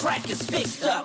track is fixed up.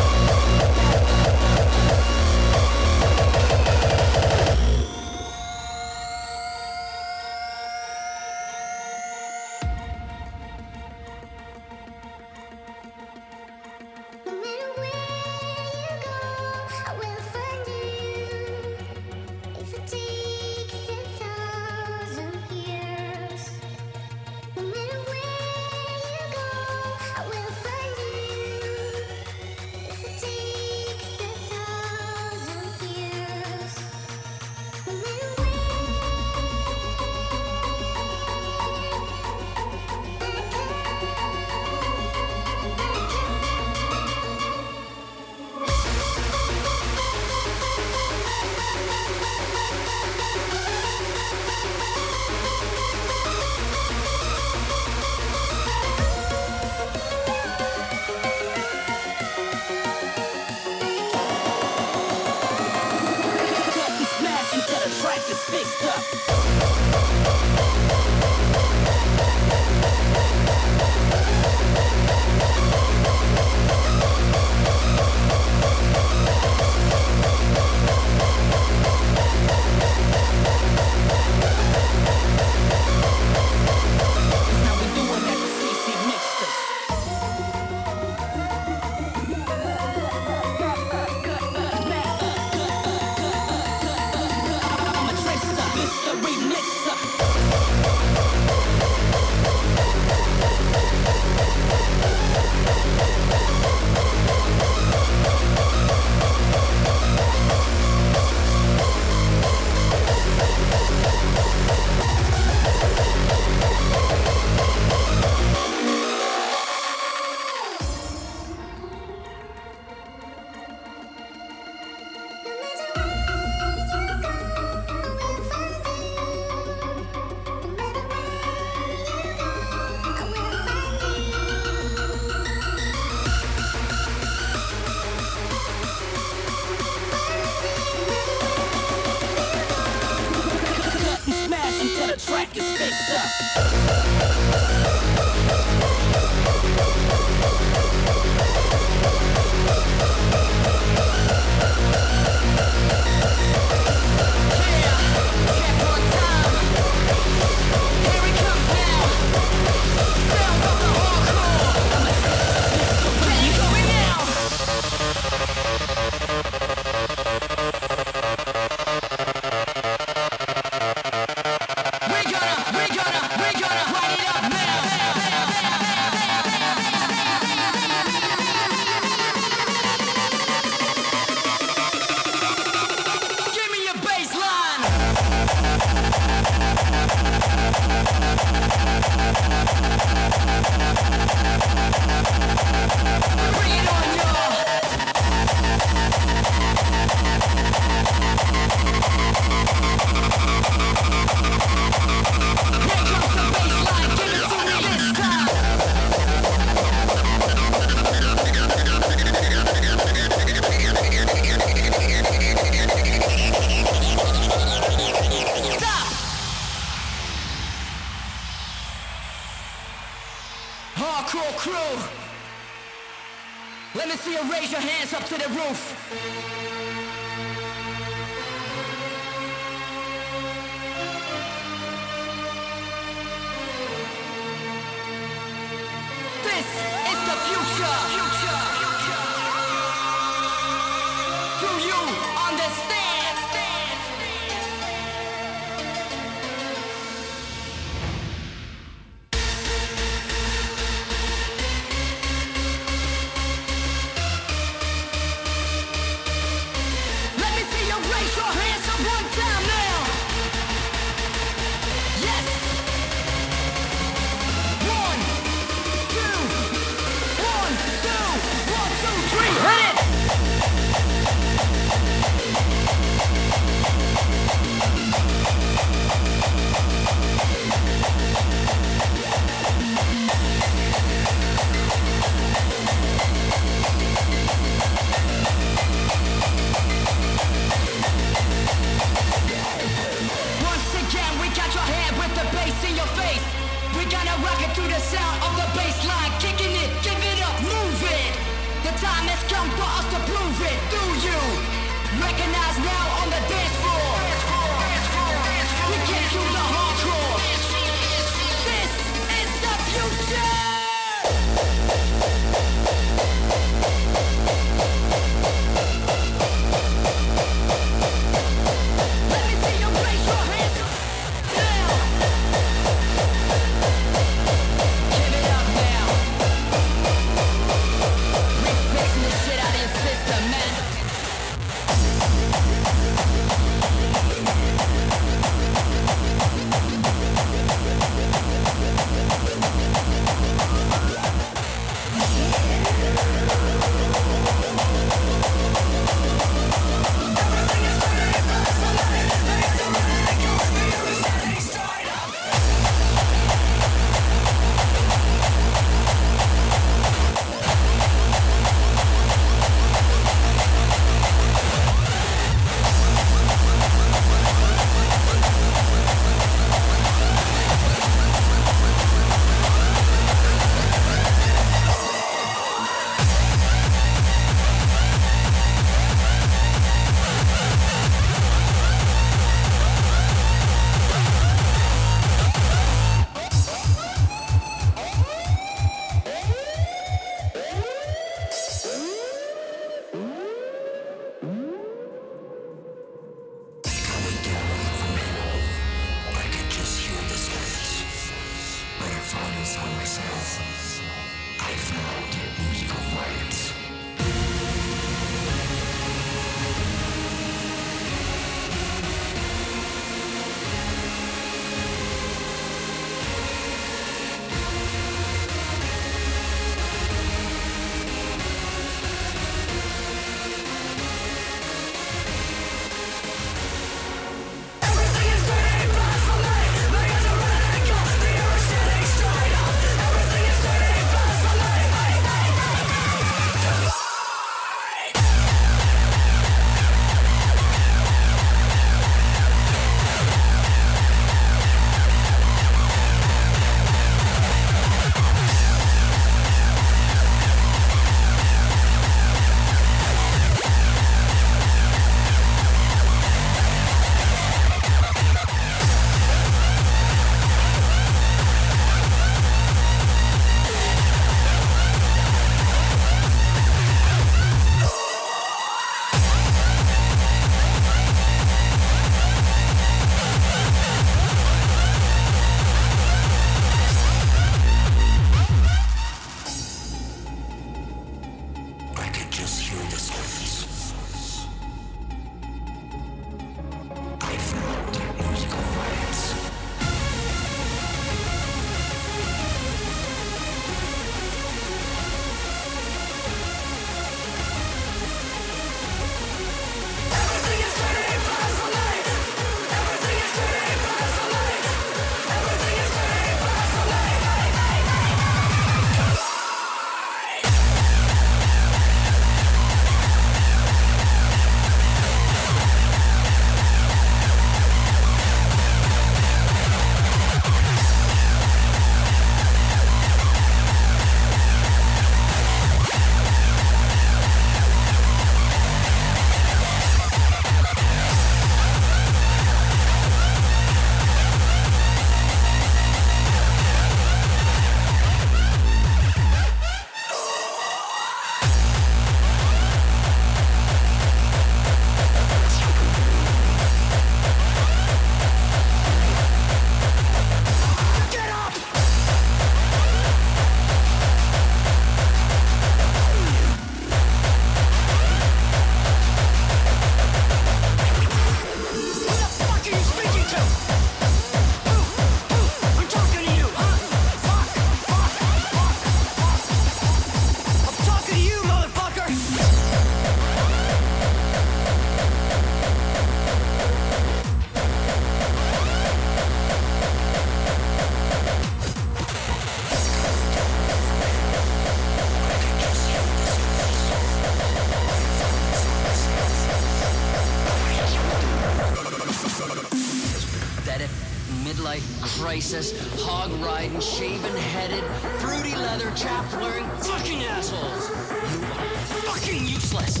crisis, hog-riding, shaven-headed, fruity leather chaps-wearing fucking assholes! You are fucking useless!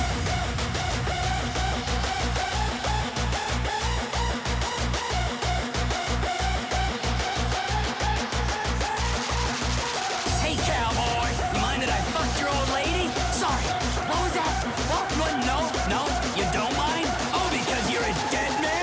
Hey, cowboy! You mind that I fucked your old lady? Sorry. What was that? What? No, you don't mind? Oh, because you're a dead man?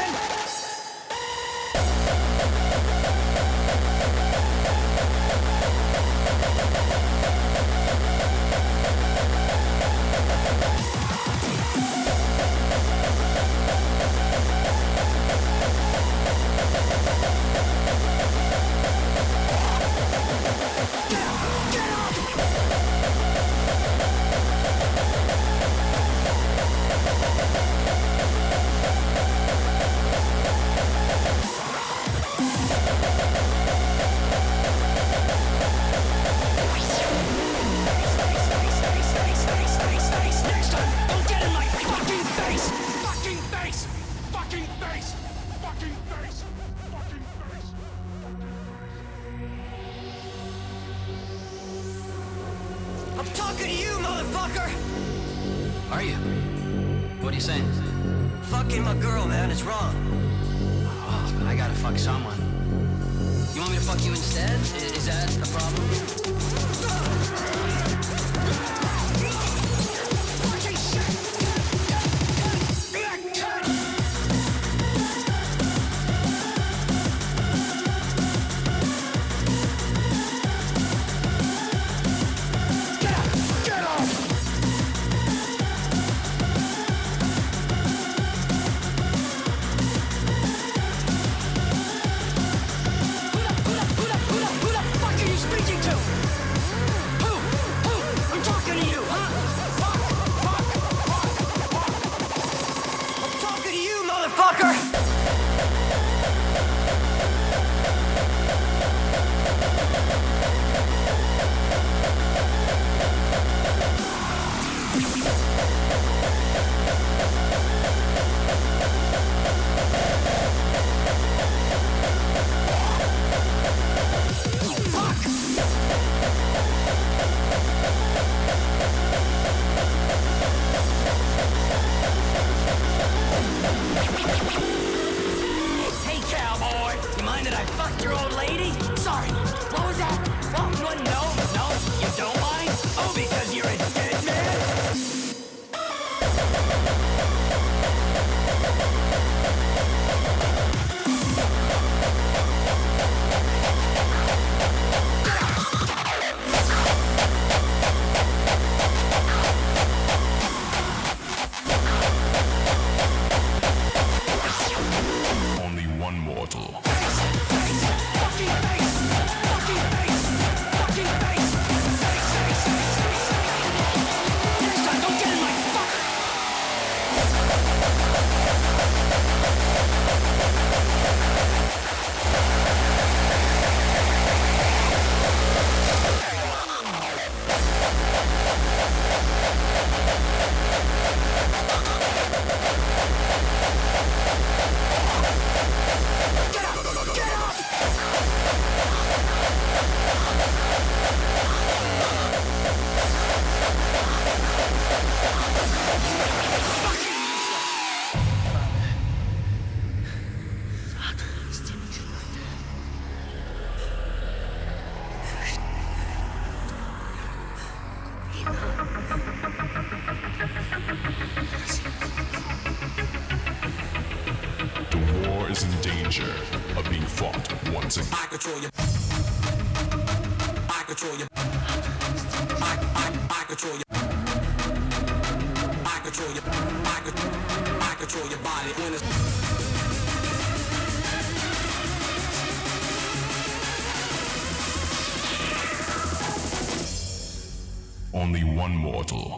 I'm talking to you, motherfucker! Are you? What are you saying? Fucking my girl, man, it's wrong. Oh, but I gotta fuck someone. You want me to fuck you instead? Is that a problem? Fucking shit! danger of being fought once again. I control you. I control you. I control you. I control you. I control your body when it's only one mortal.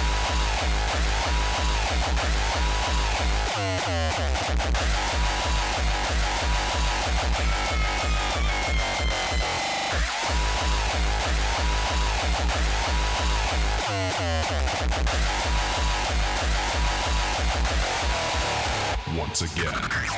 Once again.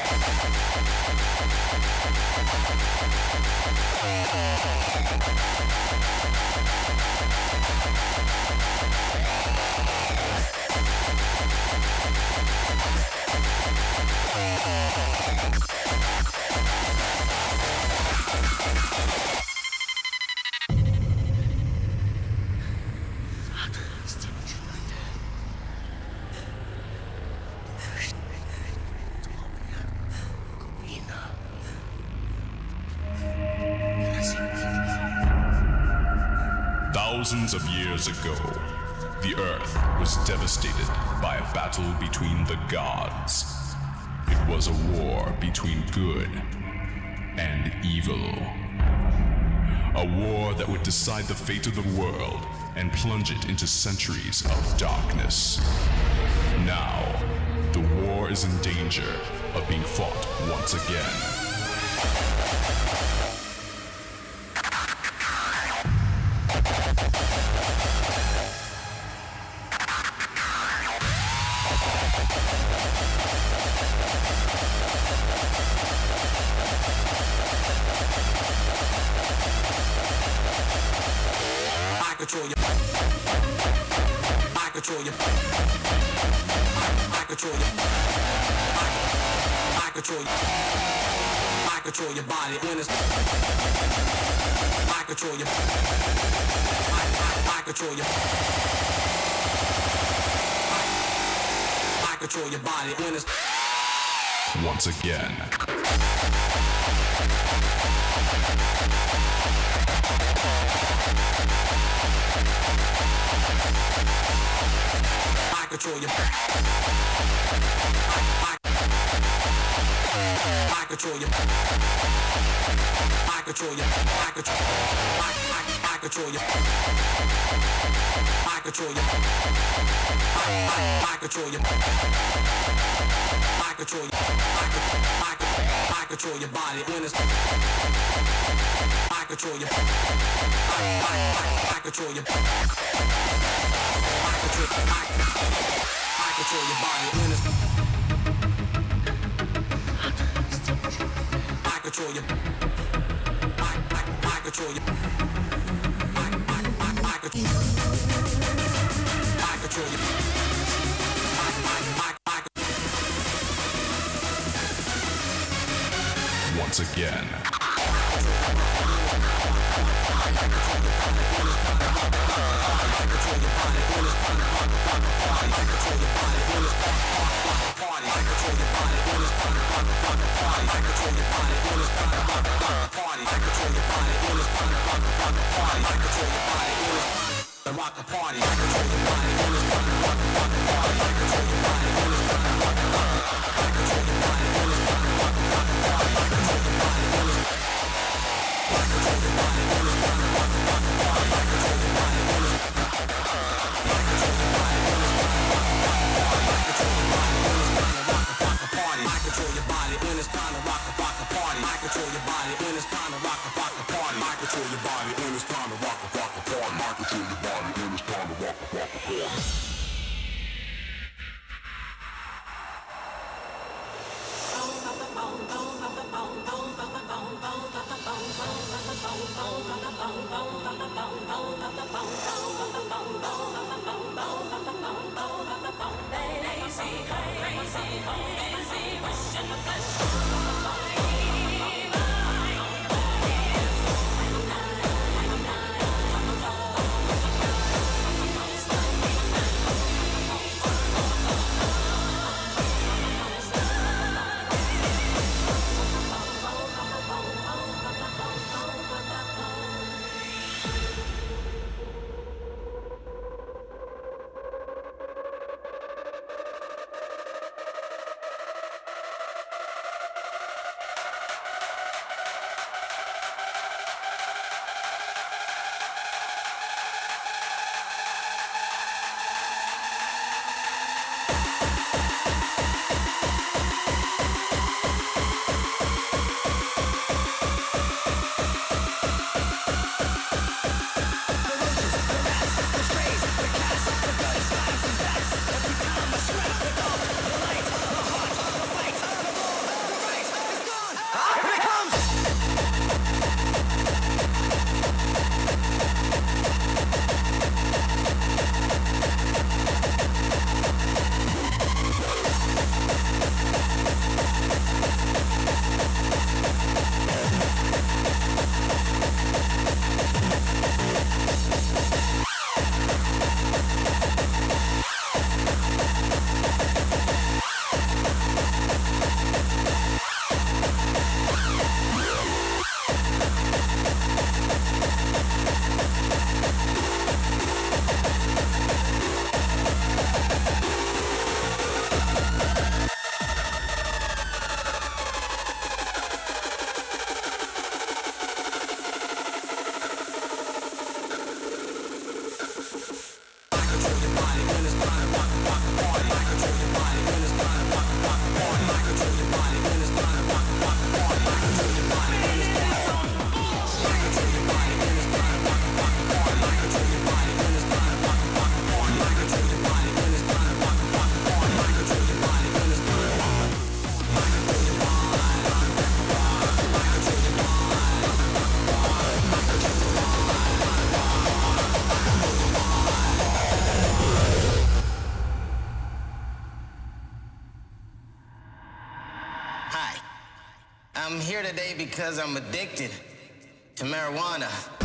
Thousands of years ago, the Earth was devastated by a battle between the gods. It was a war between good and evil. A war that would decide the fate of the world and plunge it into centuries of darkness. Now, the war is in danger of being fought once again. I control you. I control you. I control you. I control you. I control your body when it's I control you. I control you. I control your body when it's once again. I control you. I control you. I control you. I control. I control you. I control you. I control you. I control you. I control your body when it's I control you. I control you. I control your body when it's I control you. I control you. I control you. Once again. Rock the party. I control your body when it's time to rock the party. I control your body when it's time to rock the party. I control your body when it's time to rock the party. I control your body when it's I control your body when it's time to rock the party. I control your body when it's I control your body when it's time to rock the party. I control your body when it's time to rock the party. I control your body when it's time to rock the party. I control your body when it's time to rock the party. I control your body when it's time to rock the party. I control your body when it's time to rock the party. Boom, boom, boom, boom, boom, boom, boom, boom, boom, boom, boom, boom, boom, boom, boom, boom, boom, boom, boom, I'm here today because I'm addicted to marijuana.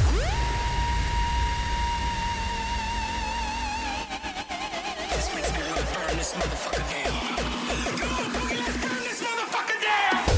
This makes me wanna burn this motherfucker down. Come on, Boogie, let's burn this motherfucker down!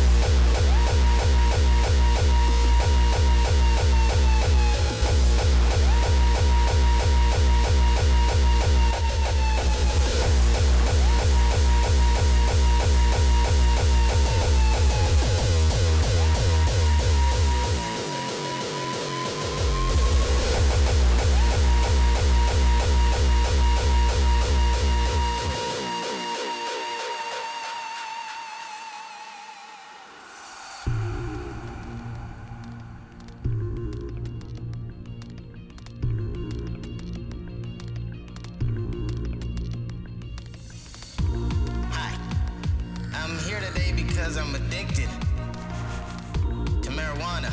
I'm addicted to marijuana.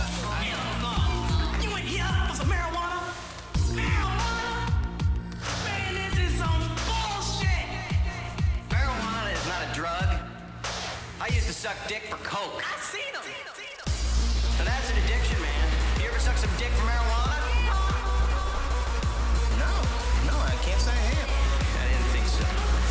You ain't here for some marijuana? Marijuana? Man, this is some bullshit! Marijuana is not a drug. I used to suck dick for coke. I seen them. And that's an addiction, man. You ever suck some dick for marijuana? No, I can't say I have. I didn't think so.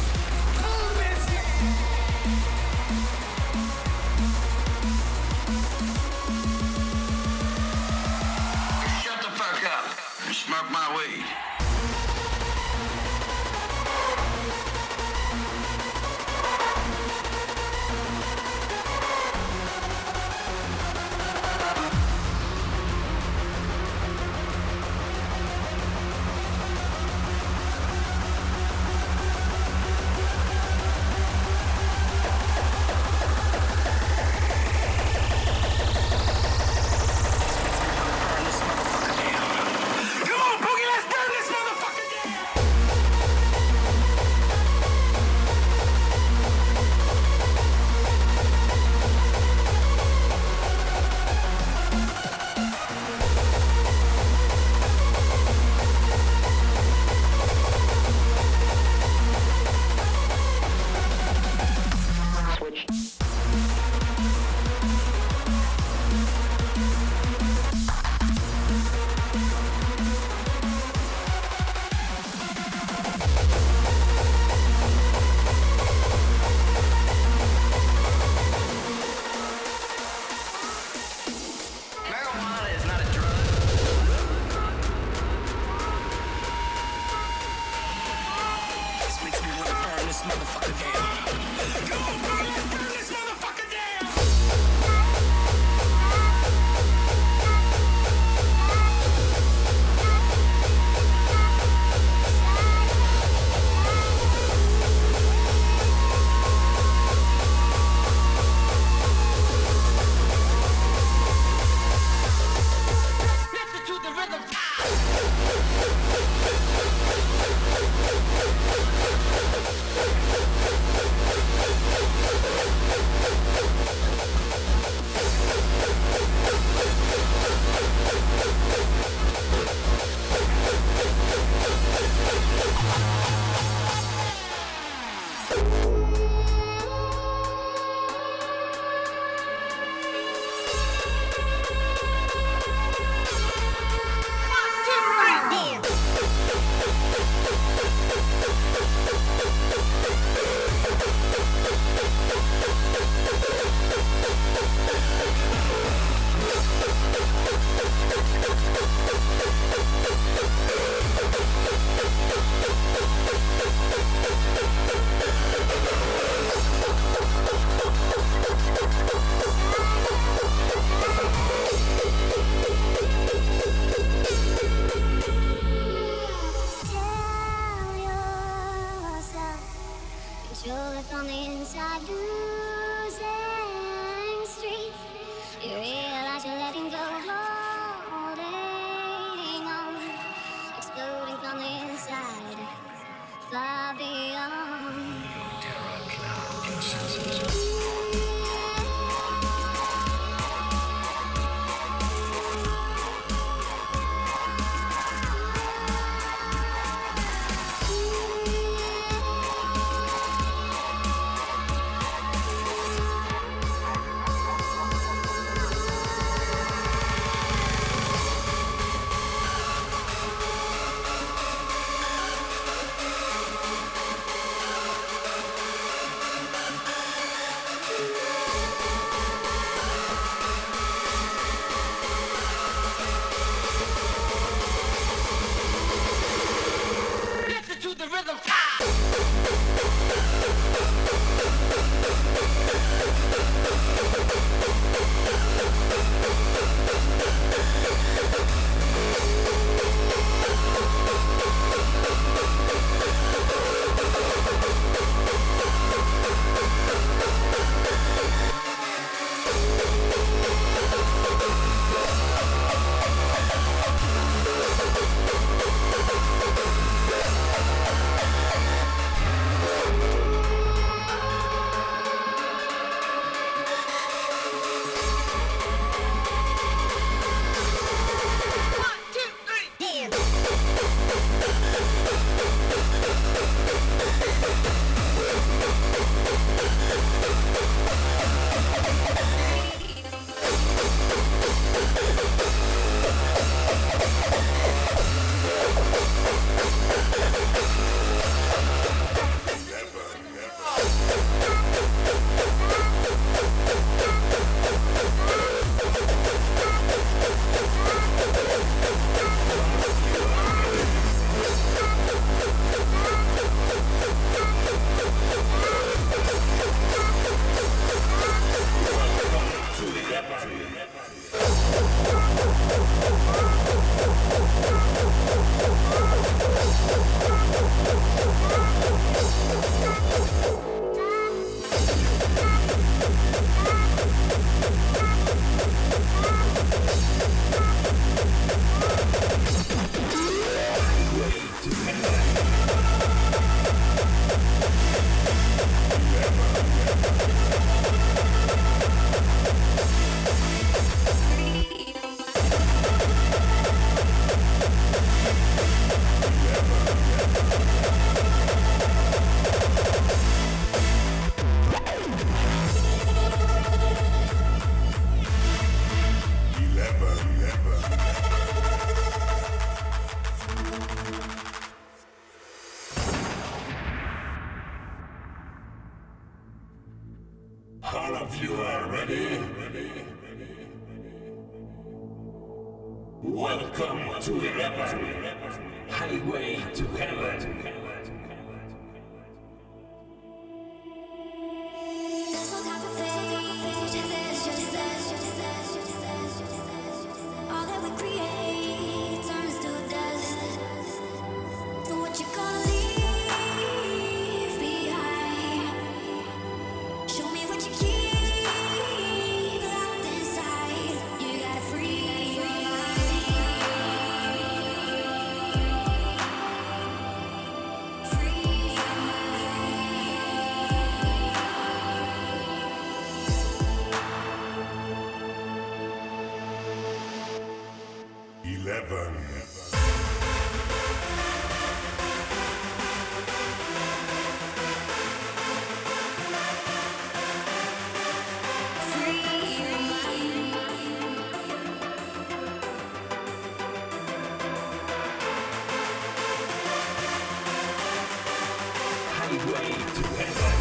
Smoke my weed. from the inside, losing street. You realize you're letting go, holding on, exploding from the inside, far beyond. Terror cloud your senses. All of you are ready? Welcome to 11, Highway to Heaven. There's no time for fate, there's just all that we create turns to dust. So what you gonna leave behind? Show me what you keep locked inside. You gotta free your mind. Free your mind. 11. Highway to Heaven.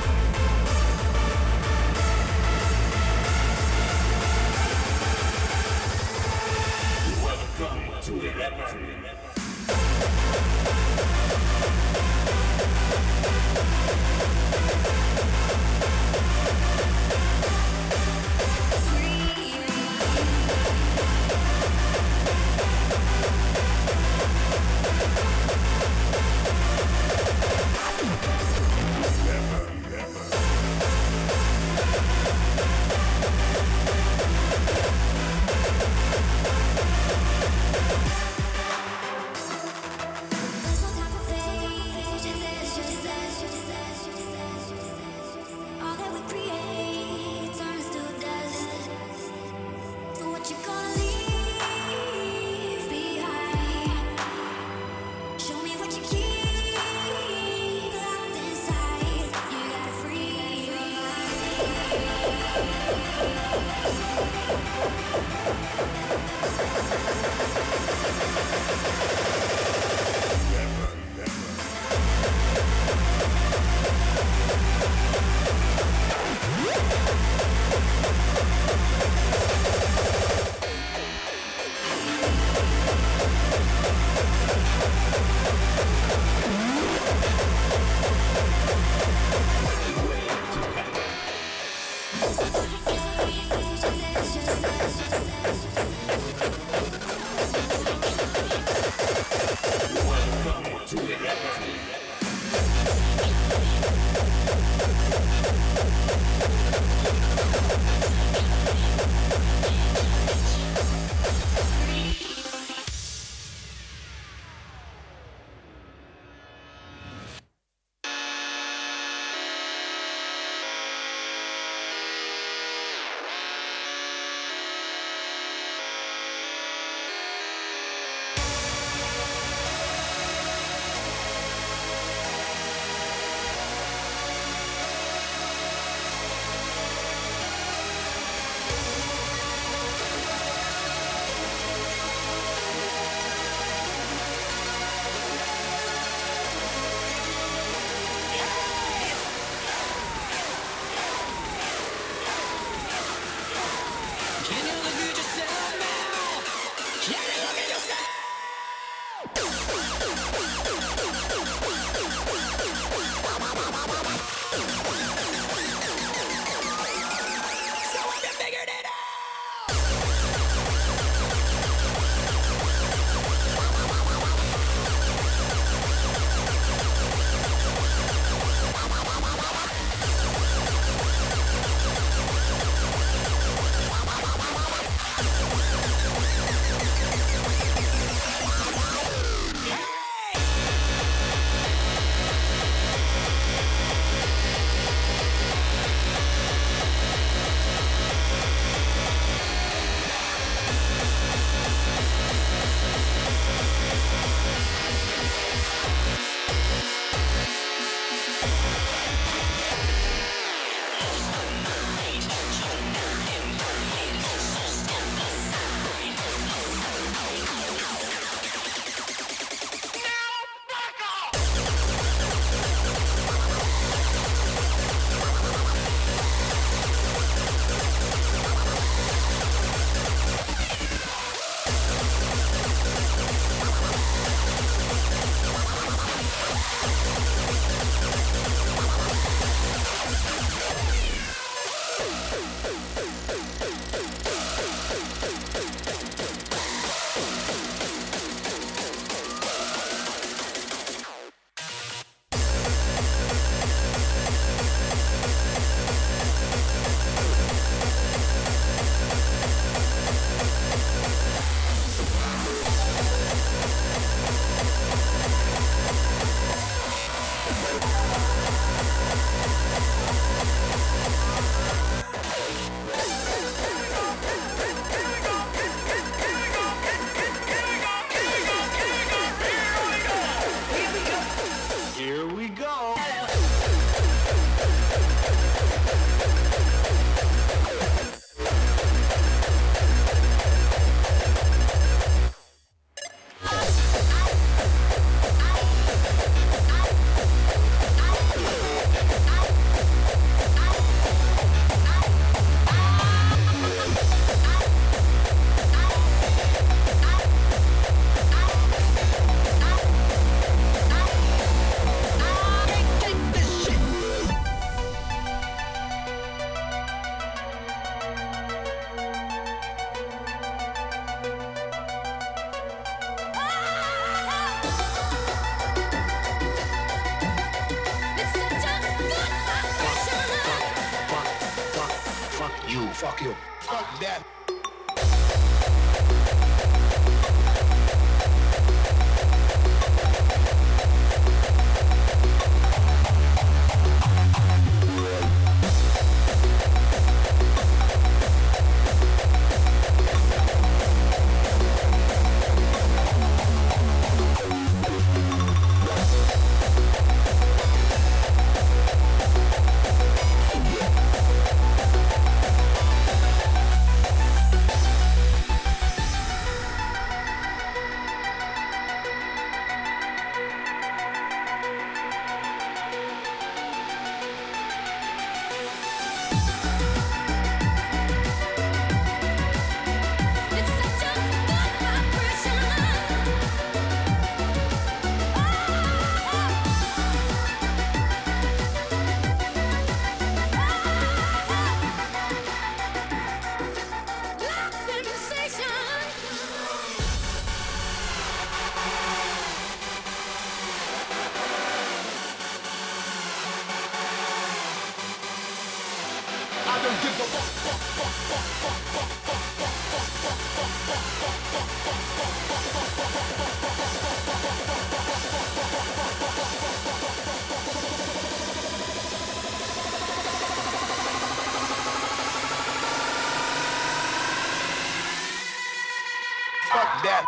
Welcome to 11. Never, never. Fuck you. Fuck that. Fuck that.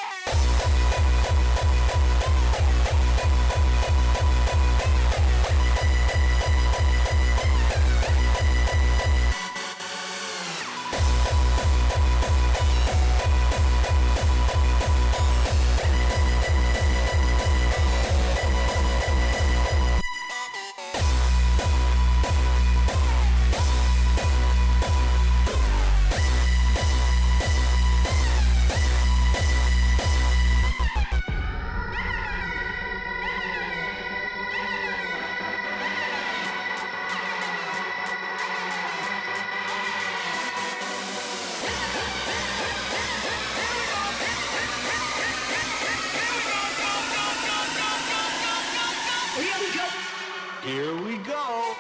Here we go.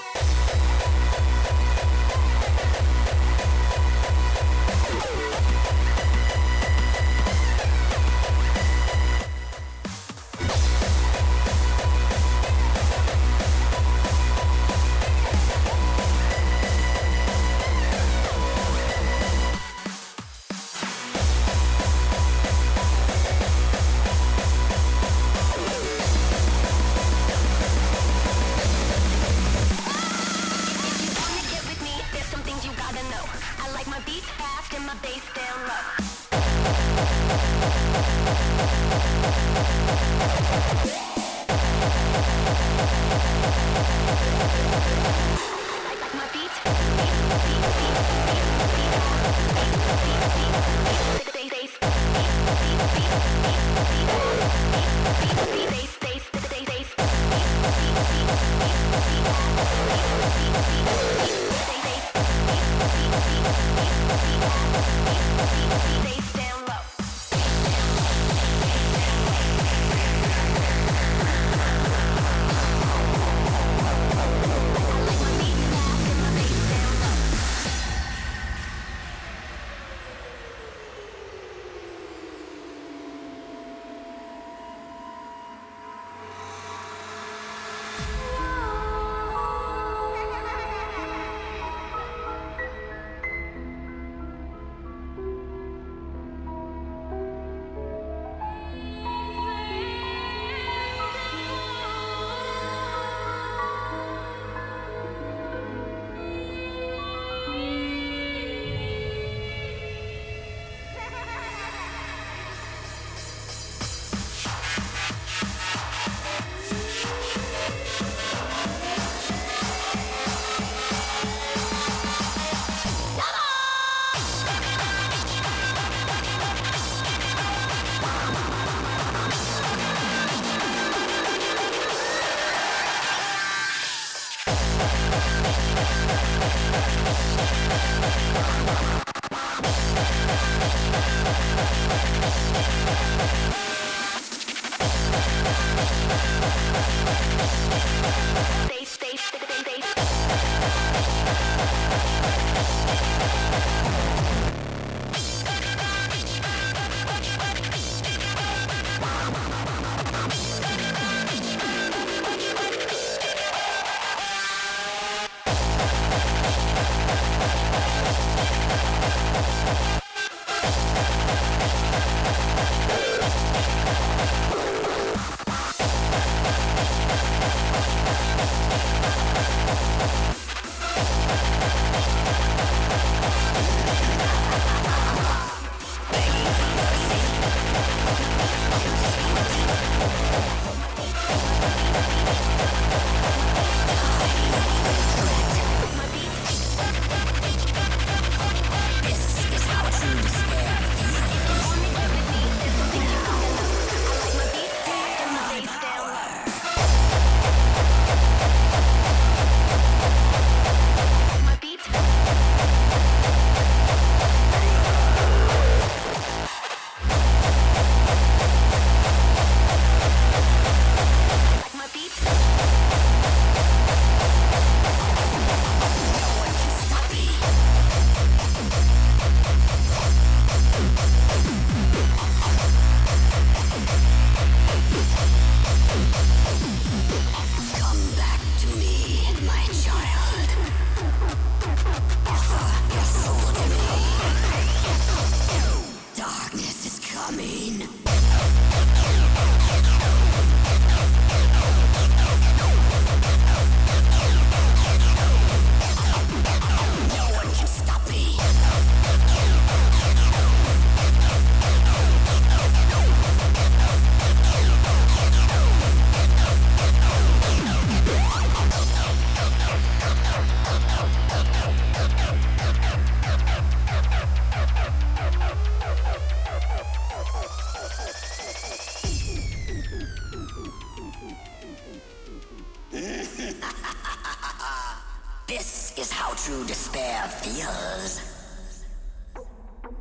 true despair feels.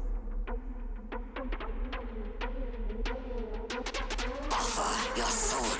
Offer your soul